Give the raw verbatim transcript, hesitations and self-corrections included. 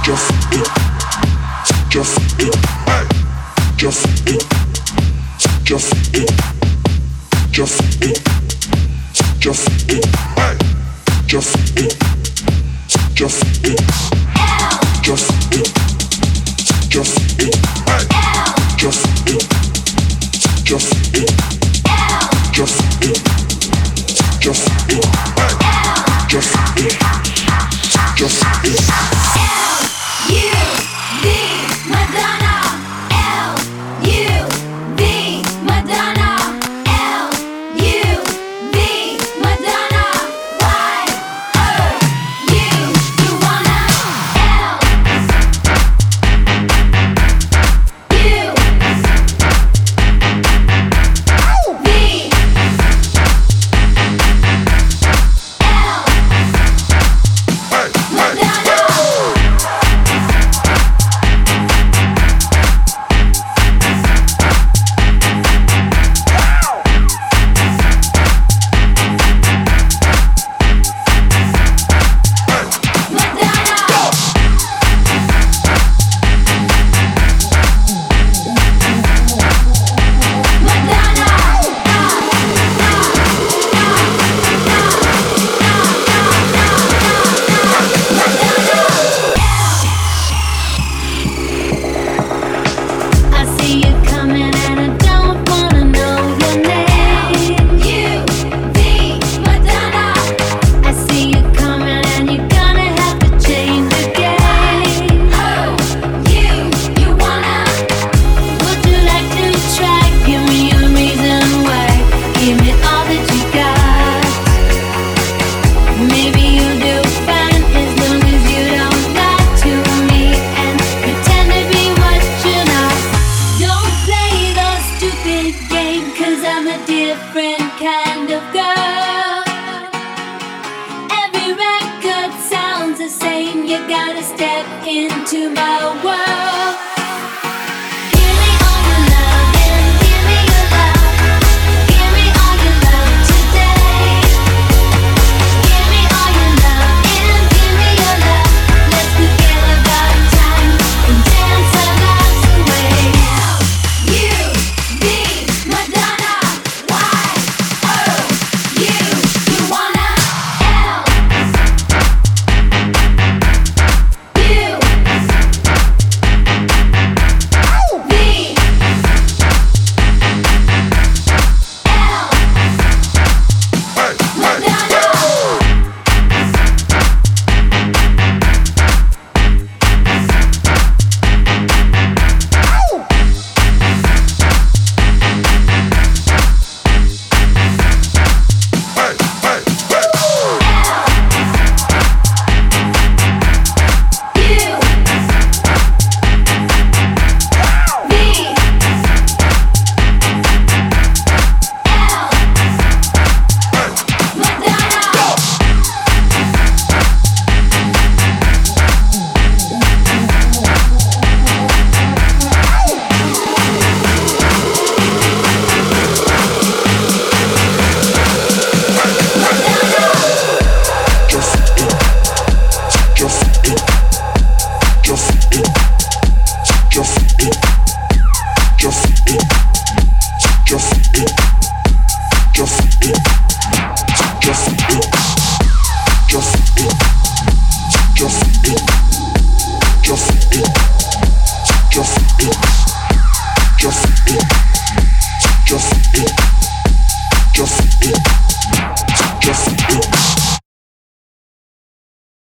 Just it, just it, just it, just it, just it, just it, just it, just it, just it, just it, just it, just it, just it, just it, just it, just it. L U V Madonna. L U V Madonna. L U V Madonna. Y O U. You wanna L U V L Madonna. I see you coming and I don't wanna know your name. U V Madonna. I see you coming and you're gonna have to change the game. Oh, you, you wanna? Would you like to try? Give me a reason why. Give me all that you got. Maybe you'll do fine as long as you don't lie to me and pretend to be what you're not. Don't play those stupid games, 'cause I'm a different kind of girl. Every record sounds the same. You gotta step into my world.